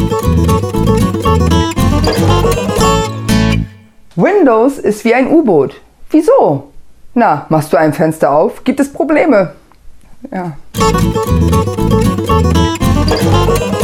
Windows ist wie ein U-Boot. Wieso? Na, machst du ein Fenster auf, gibt es Probleme. Ja.